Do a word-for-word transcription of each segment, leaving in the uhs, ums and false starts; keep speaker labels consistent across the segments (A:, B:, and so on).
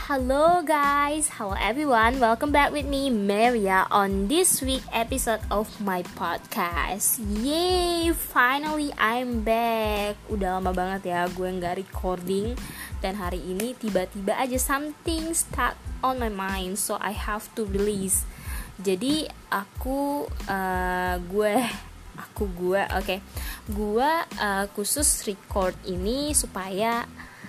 A: Hello guys, hello everyone. Welcome back with me Maria on this week episode of my podcast. Yay, finally I'm back. Udah lama banget ya gue nggak recording, dan hari ini tiba-tiba aja something stuck on my mind, so I have to release. Jadi aku uh, gue aku gue oke okay. gue uh, khusus record ini supaya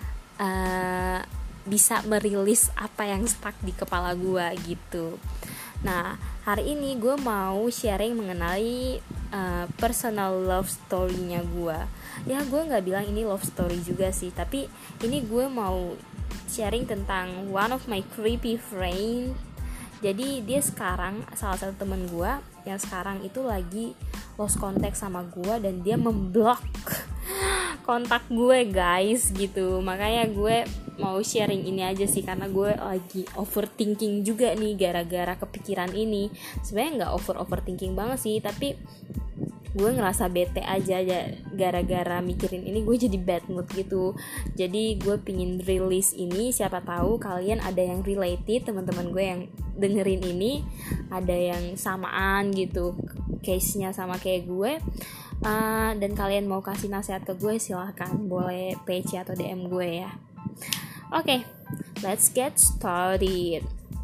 A: uh, bisa merilis apa yang stuck di kepala gue gitu. Nah, hari ini gue mau sharing mengenai uh, personal love story-nya gue. Ya, gue nggak bilang ini love story juga sih, tapi ini gue mau sharing tentang one of my creepy friend. Jadi dia sekarang salah satu temen gue yang sekarang itu lagi lost contact sama gue, dan dia memblok kontak gue guys gitu. Makanya gue mau sharing ini aja sih, karena gue lagi overthinking juga nih gara-gara kepikiran ini. Sebenarnya nggak over overthinking banget sih, tapi gue ngerasa bete aja ya gara-gara mikirin ini. Gue jadi bad mood gitu. Jadi gue pingin release ini, siapa tahu kalian ada yang related, teman-teman gue yang dengerin ini ada yang samaan gitu case-nya sama kayak gue. Uh, dan kalian mau kasih nasihat ke gue, silahkan, boleh P C atau D M gue ya. Oke, okay, let's get started.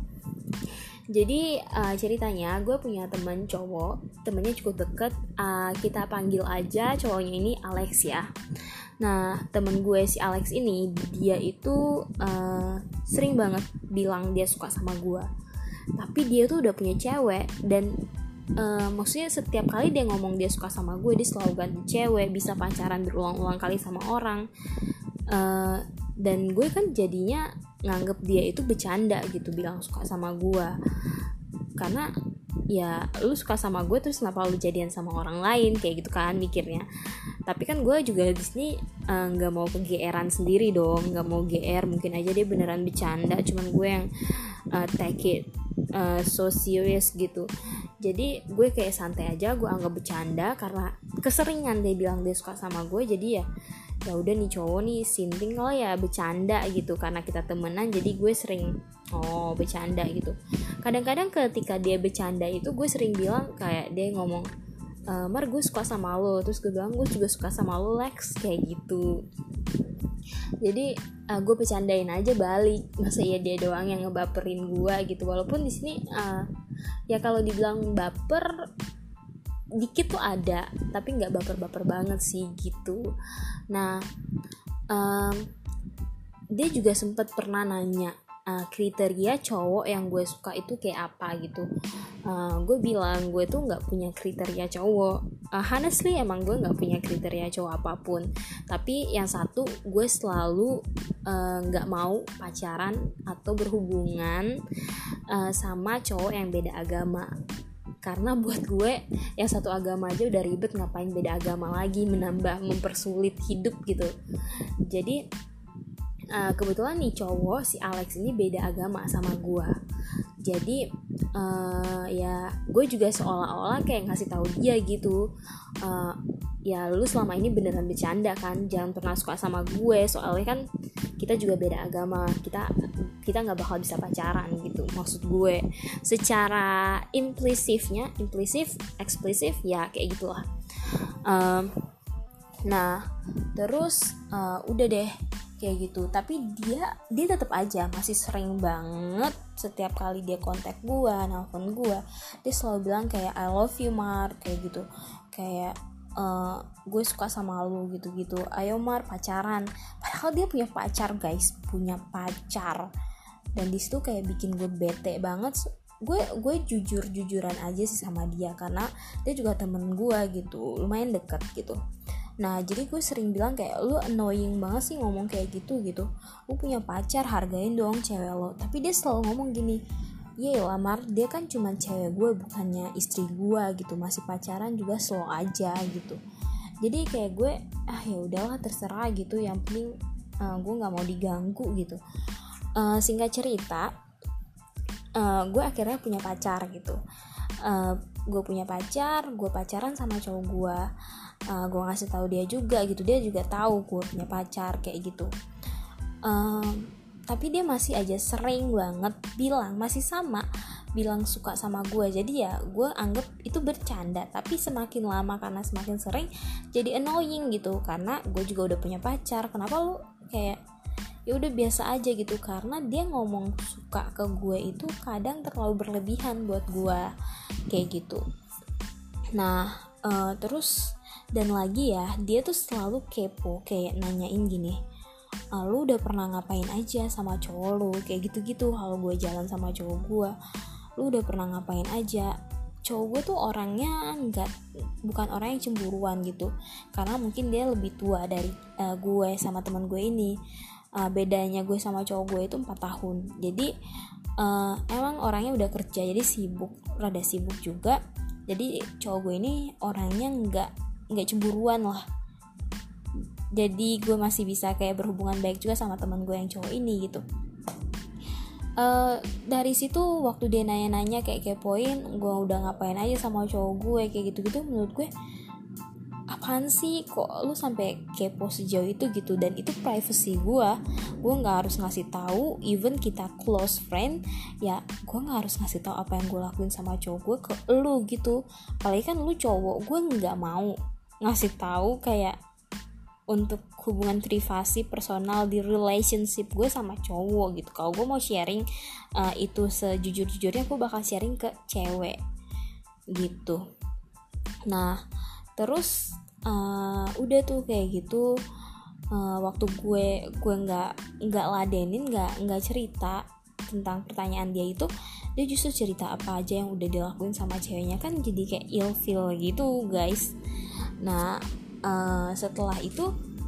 A: Jadi uh, ceritanya gue punya teman cowok, temennya cukup deket, uh, kita panggil aja cowoknya ini Alex ya. Nah, temen gue si Alex ini, dia itu uh, sering banget bilang dia suka sama gue, tapi dia tuh udah punya cewek. Dan uh, maksudnya setiap kali dia ngomong dia suka sama gue, dia selalu ganti cewek, bisa pacaran berulang-ulang kali sama orang. uh, Dan gue kan jadinya nganggep dia itu bercanda gitu, bilang suka sama gue. Karena ya lu suka sama gue, terus kenapa lu jadian sama orang lain, kayak gitu kan mikirnya. Tapi kan gue juga di sini nggak uh, mau kegeeran sendiri dong, nggak mau G R. Mungkin aja dia beneran bercanda, cuman gue yang uh, take it uh, so serious gitu. Jadi gue kayak santai aja, gue anggap bercanda karena keseringan dia bilang dia suka sama gue. Jadi ya ya udah nih cowok nih sinting kalau ya bercanda gitu, karena kita temenan jadi gue sering oh bercanda gitu. Kadang-kadang ketika dia bercanda itu gue sering bilang, kayak dia ngomong e, Mar gue suka sama lo, terus gue bilang gue juga suka sama lo Lex, kayak gitu. Jadi uh, gue bercandain aja balik, masa ya dia doang yang ngebaperin gue gitu. Walaupun di sini uh, ya kalau dibilang baper dikit tuh ada, tapi nggak baper-baper banget sih gitu. Nah, um, dia juga sempat pernah nanya uh, kriteria cowok yang gue suka itu kayak apa gitu. Uh, gue bilang gue tuh nggak punya kriteria cowok. Uh, honestly emang gue nggak punya kriteria cowok apapun. Tapi yang satu, gue selalu nggak uh, mau pacaran atau berhubungan uh, sama cowok yang beda agama. Karena buat gue yang satu agama aja udah ribet, ngapain beda agama lagi, menambah mempersulit hidup gitu. Jadi uh, kebetulan nih cowok si Alex ini beda agama sama gue. Jadi uh, ya gue juga seolah-olah kayak ngasih tahu dia gitu, uh, ya lu selama ini beneran bercanda kan, jangan pernah suka sama gue, soalnya kan kita juga beda agama, kita kita nggak bakal bisa pacaran gitu. Maksud gue secara implisifnya, implisif, eksplisif ya kayak gitulah. Um, nah terus uh, udah deh kayak gitu. Tapi dia dia tetap aja masih sering banget, setiap kali dia kontak gue, nelfon gue, dia selalu bilang kayak I love you Mar, kayak gitu, kayak Uh, gue suka sama lu gitu-gitu, ayo Mar pacaran. Padahal dia punya pacar guys, punya pacar. Dan disitu kayak bikin gue bete banget. Gue gue jujur-jujuran aja sih sama dia, karena dia juga temen gue gitu, lumayan deket gitu. Nah jadi gue sering bilang kayak, lu annoying banget sih ngomong kayak gitu gitu. Lu punya pacar, hargain dong cewek lo. Tapi dia selalu ngomong gini, iya Mar, dia kan cuma cewek gue, bukannya istri gue gitu, masih pacaran juga slow aja gitu. Jadi kayak gue ah ya udahlah terserah gitu, yang penting uh, gue nggak mau diganggu gitu. Uh, singkat cerita, uh, gue akhirnya punya pacar gitu. Uh, gue punya pacar, gue pacaran sama cowok gue. Uh, gue ngasih tahu dia juga gitu, dia juga tahu gue punya pacar kayak gitu. Uh, tapi dia masih aja sering banget bilang, masih sama bilang suka sama gue. Jadi ya gue anggap itu bercanda, tapi semakin lama karena semakin sering jadi annoying gitu, karena gue juga udah punya pacar. Kenapa lu kayak ya udah biasa aja gitu, karena dia ngomong suka ke gue itu kadang terlalu berlebihan buat gue kayak gitu. Nah uh, terus dan lagi ya, dia tuh selalu kepo, kayak nanyain gini, Uh, lu udah pernah ngapain aja sama cowok lu, kayak gitu-gitu. Kalau gue jalan sama cowok gue, lu udah pernah ngapain aja. Cowok gue tuh orangnya nggak, bukan orang yang cemburuan gitu, karena mungkin dia lebih tua dari uh, gue sama teman gue ini. Uh, bedanya gue sama cowok gue itu empat tahun. Jadi uh, emang orangnya udah kerja, jadi sibuk, rada sibuk juga. Jadi cowok gue ini orangnya nggak nggak cemburuan lah. Jadi gue masih bisa kayak berhubungan baik juga sama teman gue yang cowok ini gitu. Uh, dari situ waktu dia nanya-nanya kayak kepoin gue udah ngapain aja sama cowok gue kayak gitu-gitu, menurut gue apaan sih, kok lu sampai kepo sejauh itu gitu. Dan itu privacy gue, gue nggak harus ngasih tahu. Even kita close friend ya, gue nggak harus ngasih tahu apa yang gue lakuin sama cowok gue ke lu gitu. Apalagi kan lu cowok, gue nggak mau ngasih tahu kayak untuk hubungan privasi personal di relationship gue sama cowok gitu. Kalau gue mau sharing uh, itu sejujur-jujurnya, gue bakal sharing ke cewek gitu. Nah terus uh, udah tuh kayak gitu. Uh, waktu gue gue nggak nggak ladenin, nggak nggak cerita tentang pertanyaan dia itu, dia justru cerita apa aja yang udah dilakuin sama ceweknya. Kan jadi kayak ilfeel gitu guys. Nah Uh, setelah itu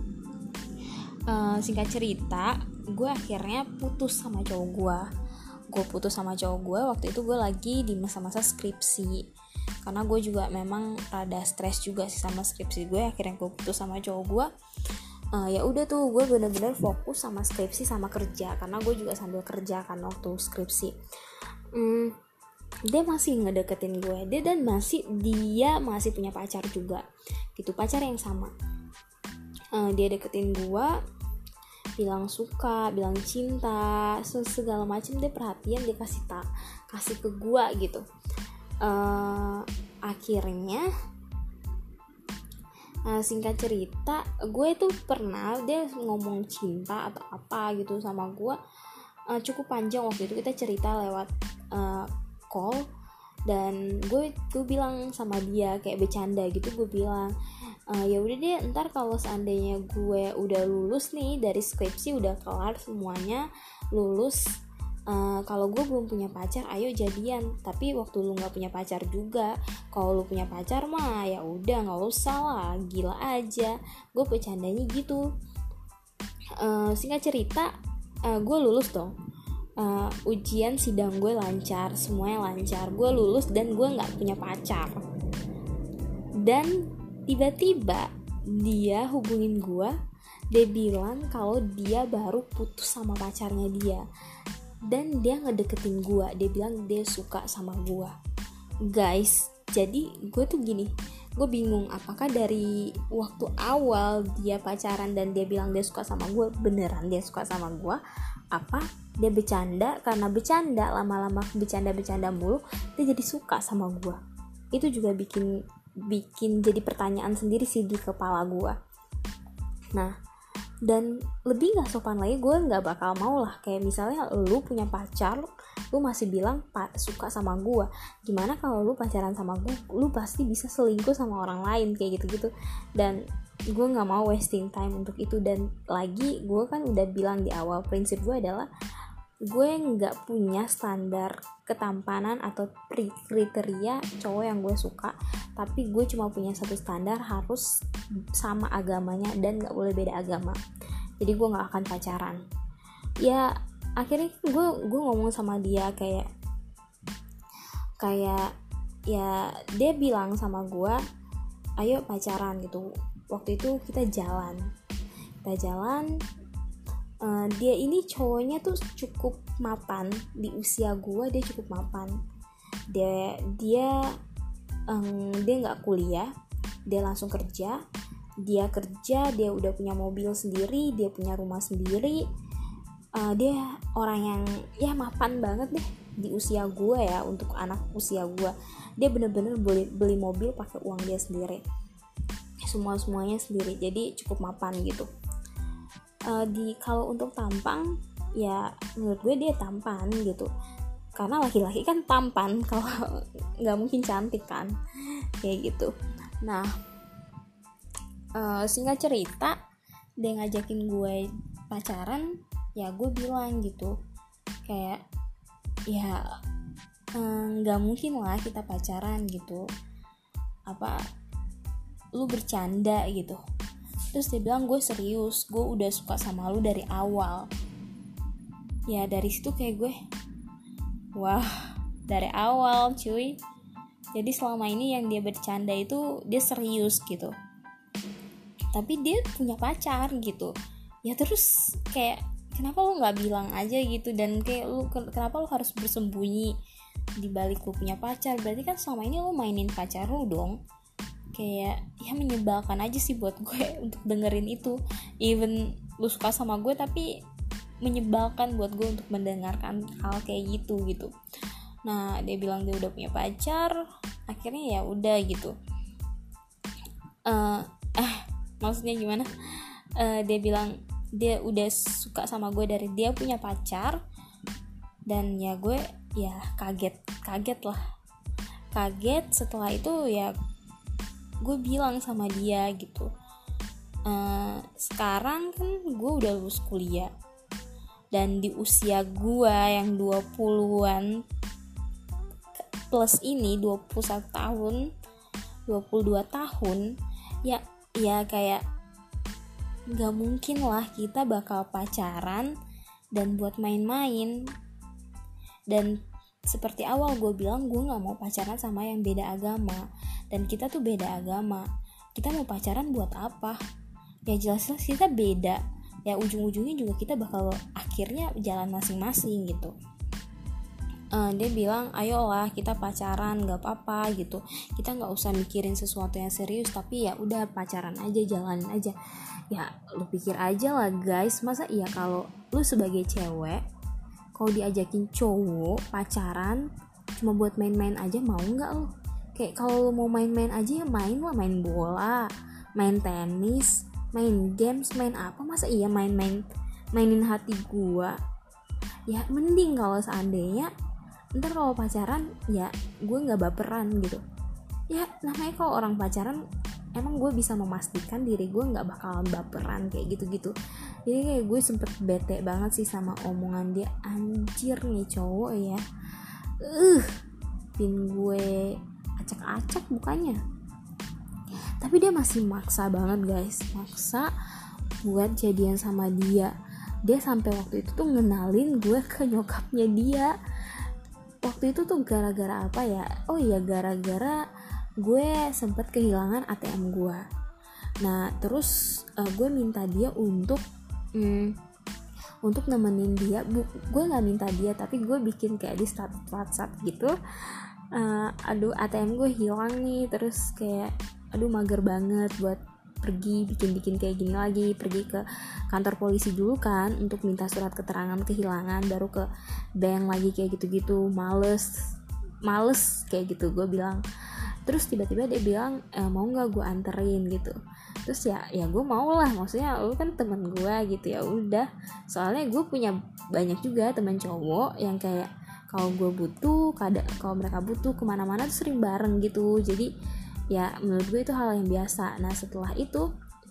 A: uh, singkat cerita, gue akhirnya putus sama cowok gue. Gue putus sama cowok gue waktu itu gue lagi di masa-masa skripsi, karena gue juga memang rada stres juga sih sama skripsi gue. Akhirnya gue putus sama cowok gue. Uh, ya udah tuh gue bener-bener fokus sama skripsi sama kerja, karena gue juga sambil kerja kan waktu skripsi. Hmm, dia masih ngedeketin gue, dia dan masih dia masih punya pacar juga gitu, pacar yang sama. Uh, dia deketin gue, bilang suka, bilang cinta, segala macam, dia perhatian, dia kasih tak kasih ke gue gitu. Uh, akhirnya uh, singkat cerita, gue tuh pernah dia ngomong cinta atau apa gitu sama gue, uh, cukup panjang. Waktu itu kita cerita lewat uh, call, dan gue gue bilang sama dia kayak bercanda gitu, gue bilang e, ya udah deh, ntar kalau seandainya gue udah lulus nih dari skripsi, udah kelar semuanya, lulus, uh, kalau gue belum punya pacar, ayo jadian. Tapi waktu lu nggak punya pacar juga, kalau lu punya pacar mah ya udah nggak usah lah, gila aja. Gue bercandanya gitu. Uh, singkat cerita, uh, gue lulus dong. Uh, ujian sidang gue lancar, semuanya lancar, gue lulus dan gue nggak punya pacar. Dan tiba-tiba dia hubungin gue, dia bilang kalau dia baru putus sama pacarnya dia, dan dia ngedeketin gue, dia bilang dia suka sama gue. Guys, jadi gue tuh gini, gue bingung apakah dari waktu awal dia pacaran dan dia bilang dia suka sama gue, beneran dia suka sama gue, apa dia bercanda, karena bercanda lama-lama bercanda-bercanda mulu dia jadi suka sama gue. Itu juga bikin bikin jadi pertanyaan sendiri sih di kepala gue. Nah, dan lebih nggak sopan lagi, gue nggak bakal mau lah kayak misalnya lu punya pacar, lu masih bilang pa, suka sama gue. Gimana kalau lu pacaran sama gue, lu pasti bisa selingkuh sama orang lain kayak gitu-gitu. Dan gue nggak mau wasting time untuk itu. Dan lagi gue kan udah bilang di awal, prinsip gue adalah gue nggak punya standar ketampanan atau kriteria cowok yang gue suka, tapi gue cuma punya satu standar, harus sama agamanya dan nggak boleh beda agama. Jadi gue nggak akan pacaran. Ya akhirnya gue gue ngomong sama dia kayak kayak ya dia bilang sama gue, ayo pacaran gitu. Waktu itu kita jalan kita jalan Uh, dia ini cowoknya tuh cukup mapan, di usia gue dia cukup mapan. Dia dia um, dia nggak kuliah, dia langsung kerja. Dia kerja, dia udah punya mobil sendiri, dia punya rumah sendiri. uh, dia orang yang ya mapan banget deh di usia gue ya, untuk anak usia gue. Dia bener-bener beli, beli mobil pakai uang dia sendiri, semua semuanya sendiri, jadi cukup mapan gitu. Uh, di kalau untuk tampang ya menurut gue dia tampan gitu, karena laki-laki kan tampan, kalau nggak mungkin cantik kan, kayak gitu. Nah uh, singkat cerita, dia ngajakin gue pacaran, ya gue bilang gitu kayak ya nggak eh, mungkin lah kita pacaran gitu, apa lu bercanda gitu. Terus dia bilang gue serius, gue udah suka sama lu dari awal. Ya dari situ kayak gue, wah dari awal cuy. Jadi selama ini yang dia bercanda itu dia serius gitu, tapi dia punya pacar gitu. Ya terus kayak kenapa lu nggak bilang aja gitu, dan kayak lu kenapa lu harus bersembunyi di balik lu punya pacar? Berarti kan selama ini lu mainin pacar lu dong. Kayak ya menyebalkan aja sih buat gue untuk dengerin itu. Even lu suka sama gue, tapi menyebalkan buat gue untuk mendengarkan hal kayak gitu gitu. Nah dia bilang dia udah punya pacar, akhirnya ya udah gitu. Uh, ah maksudnya gimana? Uh, dia bilang dia udah suka sama gue dari dia punya pacar, dan ya gue ya kaget kaget lah kaget setelah itu ya gue bilang sama dia gitu, e, sekarang kan gue udah lulus kuliah, dan di usia gue yang dua puluhan plus ini, dua puluh satu tahun, dua puluh dua tahun, ya ya kayak gak mungkin lah kita bakal pacaran dan buat main-main. Dan seperti awal gue bilang, gue gak mau pacaran sama yang beda agama, dan kita tuh beda agama. Kita mau pacaran buat apa? Ya jelas-jelas kita beda, ya ujung-ujungnya juga kita bakal akhirnya jalan masing-masing gitu. Uh, dia bilang ayolah kita pacaran, gak apa-apa gitu, kita gak usah mikirin sesuatu yang serius, tapi ya udah pacaran aja, jalanin aja. Ya lu pikir aja lah guys, masa iya kalau lu sebagai cewek kalau diajakin cowok pacaran cuma buat main-main aja, mau nggak lu? Kayak kalau lu mau main-main aja ya main lah, main bola, main tenis, main games, main apa, masa iya main-main mainin hati gua? Ya mending kalau seandainya ntar kalau pacaran ya gue nggak baperan gitu. Ya namanya kalau orang pacaran emang gue bisa memastikan diri gue nggak bakalan baperan kayak gitu-gitu. Jadi kayak gue sempet bete banget sih sama omongan dia. Anjir nih cowok ya, uh pin gue acak-acak bukannya. Tapi dia masih maksa banget guys, maksa buat jadian sama dia. Dia sampai waktu itu tuh ngenalin gue ke nyokapnya dia. Waktu itu tuh gara-gara apa ya? Oh iya, gara-gara gue sempet kehilangan A T M gue. Nah terus uh, gue minta dia untuk mm, untuk nemenin dia. Bu, gue nggak minta dia, tapi gue bikin kayak di status WhatsApp gitu. Uh, aduh A T M gue hilang nih, terus kayak aduh mager banget buat pergi bikin-bikin kayak gini lagi, pergi ke kantor polisi dulu kan untuk minta surat keterangan kehilangan, baru ke bank lagi kayak gitu-gitu. Males males kayak gitu gue bilang. Terus tiba-tiba dia bilang e, mau nggak gue anterin gitu. Terus ya ya gue mau lah, maksudnya lu kan temen gue gitu, ya udah. Soalnya gue punya banyak juga teman cowok yang kayak kalau gue butuh, kalau mereka butuh kemana-mana tuh sering bareng gitu. Jadi ya menurut gue itu hal yang biasa. Nah setelah itu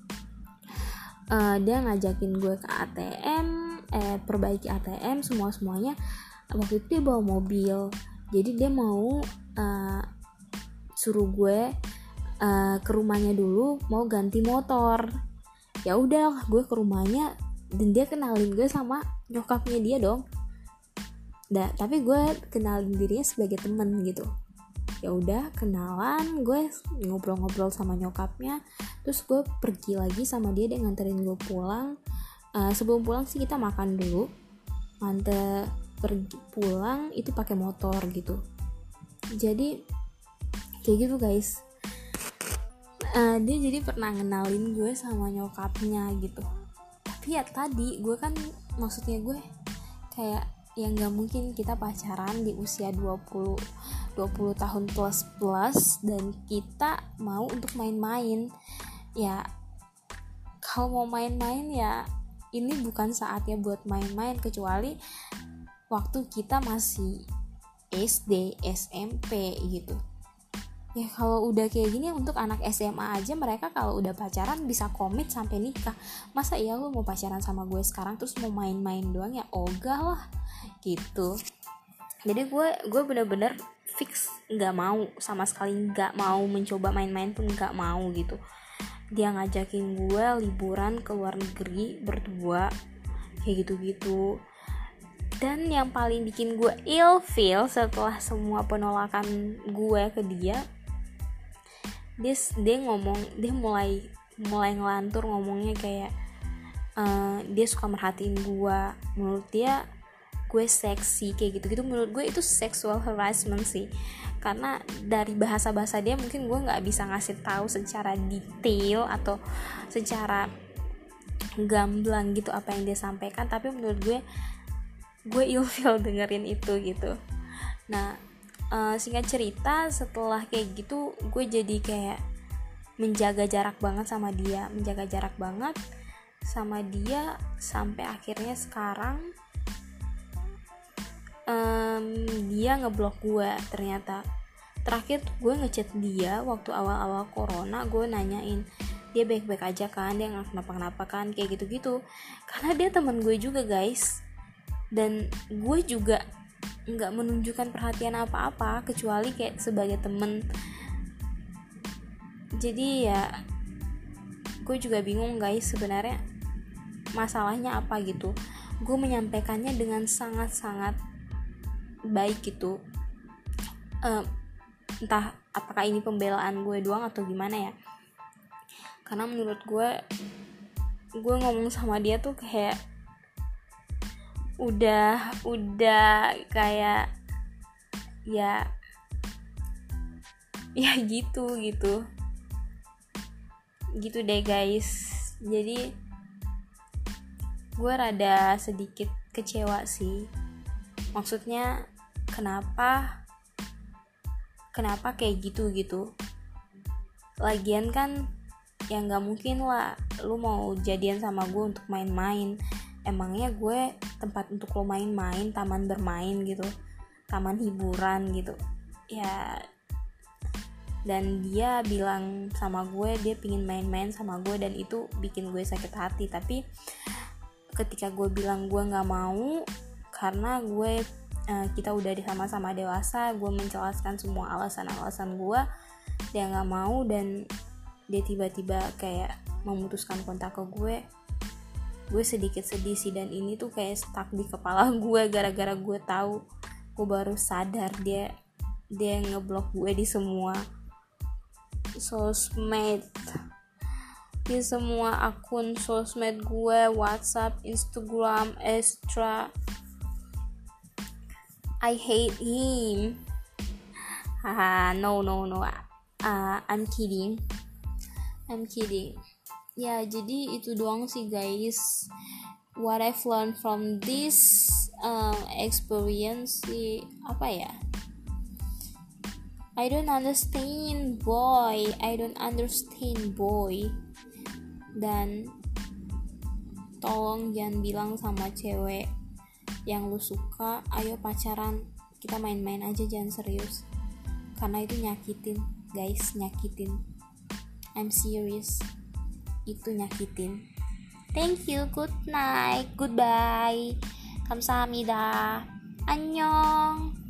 A: uh, dia ngajakin gue ke A T M, eh perbaiki A T M semua semuanya. Waktu itu dia bawa mobil, jadi dia mau uh, suruh gue uh, ke rumahnya dulu, mau ganti motor. Ya udah, gue ke rumahnya dan dia kenalin gue sama nyokapnya dia dong. Nah, tapi gue kenalin dirinya sebagai temen gitu. Ya udah kenalan, gue ngobrol-ngobrol sama nyokapnya, terus gue pergi lagi sama dia, dia nganterin gue pulang. Uh, sebelum pulang sih kita makan dulu. Mante pergi pulang itu pakai motor gitu. Jadi kayak gitu guys. Uh, dia jadi pernah ngenalin gue sama nyokapnya gitu. Tapi ya tadi gue kan maksudnya gue kayak yang nggak mungkin kita pacaran di usia dua puluh tahun plus plus dan kita mau untuk main-main. Ya kalau mau main-main ya ini bukan saatnya buat main-main, kecuali waktu kita masih S D, S M P gitu. Ya kalau udah kayak gini, untuk anak S M A aja mereka kalau udah pacaran bisa komit sampai nikah. Masa iya lu mau pacaran sama gue sekarang terus mau main-main doang? Ya ogah lah gitu. Jadi gue gue bener-bener fix nggak mau, sama sekali nggak mau mencoba main-main pun nggak mau gitu. Dia ngajakin gue liburan ke luar negeri berdua kayak gitu-gitu. Dan yang paling bikin gue ilfeel setelah semua penolakan gue ke dia, dia dia ngomong dia mulai mulai ngelantur ngomongnya kayak uh, dia suka merhatiin gue, menurut dia gue seksi kayak gitu-gitu. Menurut gue itu sexual harassment sih, karena dari bahasa-bahasa dia mungkin gue nggak bisa ngasih tahu secara detail atau secara gamblang gitu apa yang dia sampaikan, tapi menurut gue gue ilfeel dengerin itu gitu. Nah Uh, singkat cerita, setelah kayak gitu gue jadi kayak menjaga jarak banget sama dia menjaga jarak banget sama dia sampai akhirnya sekarang um, dia ngeblok gue. Ternyata terakhir gue ngechat dia waktu awal-awal corona, gue nanyain dia baik-baik aja kan, dia nggak kenapa-kenapa kan, kayak gitu-gitu. Karena dia teman gue juga guys, dan gue juga nggak menunjukkan perhatian apa-apa kecuali kayak sebagai temen. Jadi ya gue juga bingung guys sebenarnya masalahnya apa gitu. Gue menyampaikannya dengan sangat-sangat baik gitu, uh, entah apakah ini pembelaan gue doang atau gimana ya, karena menurut gue gue ngomong sama dia tuh kayak udah udah kayak ya ya gitu gitu gitu deh guys. Jadi gue rada sedikit kecewa sih, maksudnya kenapa kenapa kayak gitu gitu. Lagian kan ya nggak mungkin lah lu mau jadian sama gue untuk main-main. Emangnya gue tempat untuk lo main-main, taman bermain gitu, taman hiburan gitu ya. Dan dia bilang sama gue dia pingin main-main sama gue, dan itu bikin gue sakit hati. Tapi ketika gue bilang gue gak mau karena gue uh, kita udah sama-sama dewasa, gue menjelaskan semua alasan-alasan gue, dia gak mau, dan dia tiba-tiba kayak memutuskan kontak ke gue. Gue sedikit sedih sih, dan ini tuh kayak stuck di kepala gue gara-gara gue tahu. Gue baru sadar dia dia ngeblok gue di semua sosmed, di semua akun sosmed gue, WhatsApp, Instagram, extra. I hate him. Haha, no no no. Uh, I'm kidding. I'm kidding. Ya, jadi itu doang sih guys. What I've learned from this uh, experience sih, apa ya? I don't understand boy. I don't understand boy. Dan tolong jangan bilang sama cewek yang lu suka, ayo pacaran, kita main-main aja, jangan serius. Karena itu nyakitin, guys, nyakitin. I'm serious. Itu nyakitin. Thank you, good night, goodbye, 감사합니다, 안녕.